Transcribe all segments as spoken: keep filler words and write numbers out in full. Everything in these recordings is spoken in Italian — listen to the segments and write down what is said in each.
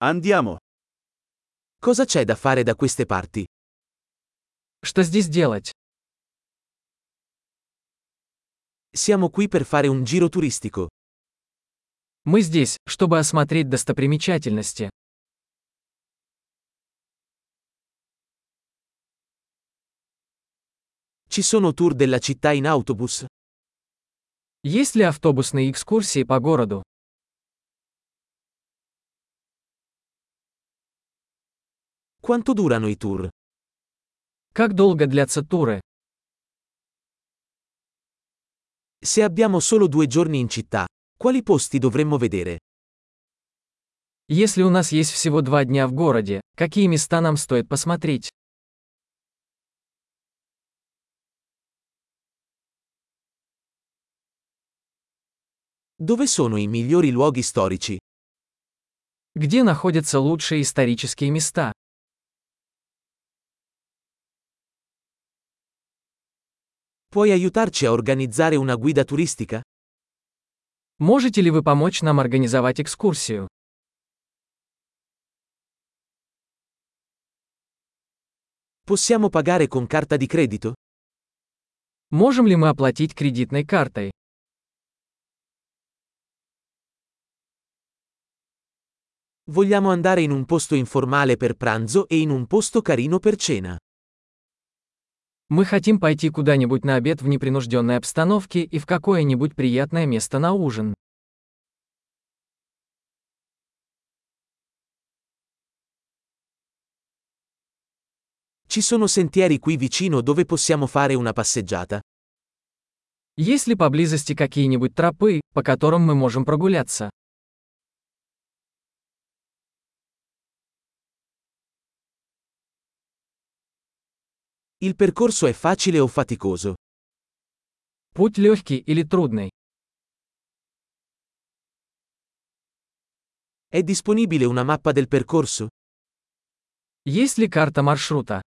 Andiamo. Cosa c'è da fare da queste parti? Что здесь делать? Siamo qui per fare un giro turistico. Мы здесь, чтобы осмотреть достопримечательности. Ci sono tour della città in autobus? Есть ли автобусные экскурсии по городу? Quanto durano i tour? Как долго длятся туры? Se abbiamo solo due giorni in città, quali posti dovremmo vedere? Если у нас есть всего два дня в городе, какие места нам стоит посмотреть? Dove sono i migliori luoghi storici? Где находятся лучшие исторические места? Puoi aiutarci a organizzare una guida turistica? Можете ли вы помочь нам организовать экскурсию? Possiamo pagare con carta di credito? Можем ли мы оплатить кредитной картой? Vogliamo andare in un posto informale per pranzo e in un posto carino per cena. Мы хотим пойти куда-нибудь на обед в непринужденной обстановке и в какое-нибудь приятное место на ужин. Ci sono sentieri qui vicino dove possiamo fare una passeggiata? Есть ли поблизости какие-нибудь тропы, по которым мы можем прогуляться? Il percorso è facile o faticoso? Путь легкий или трудный? È disponibile una mappa del percorso? Есть ли карта маршрута?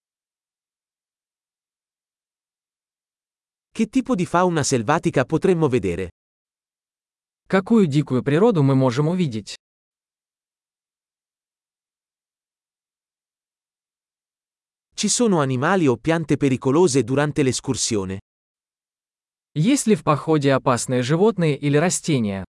Che tipo di fauna selvatica potremmo vedere? Какую дикую природу мы можем увидеть? Ci sono animali o piante pericolose durante l'escursione? Есть ли в походе опасные животные или растения?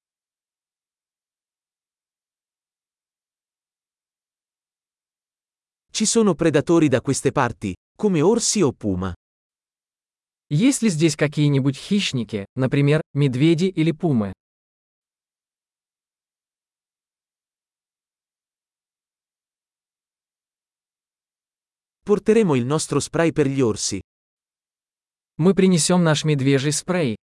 Ci sono predatori da queste parti, come orsi o puma? Есть ли здесь какие-нибудь хищники, например, медведи или пумы? Porteremo il nostro spray per gli orsi. Мы принесем наш медвежий спрей.